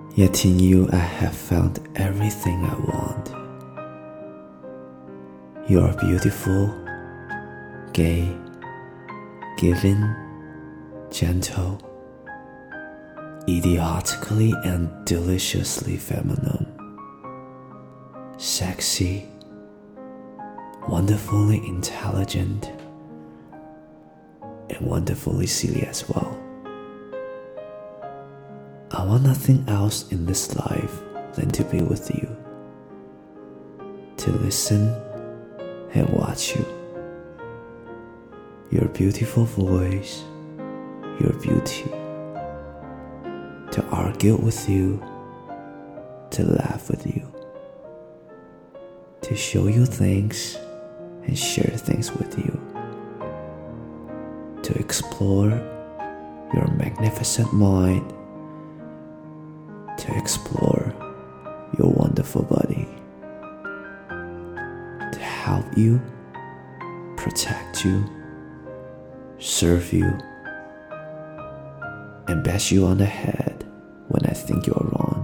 Yet in you I have found everything I want. You are beautiful, gay, giving, gentle, idiotically and deliciously feminine, sexy, wonderfully intelligent, and wonderfully silly as well. I want nothing else in this life than to be with you, to listen and watch you. Your beautiful voice, your beauty, to argue with you, to laugh with you, to show you things and share things with you, to explore your magnificent mind, to explore your wonderful body, to help you, protect you, serve you, and bash you on the head when I think you are wrong.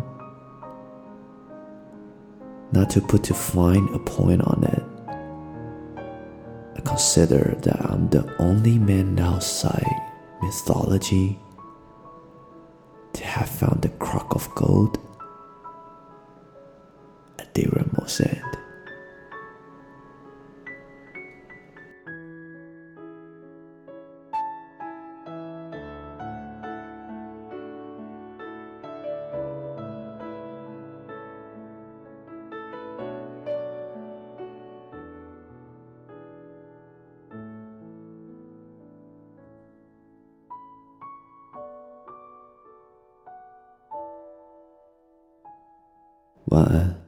Not to put too fine a point on it, I consider that I'm the only man outside mythology to have found the crock of gold at Deir Mosand.晚安。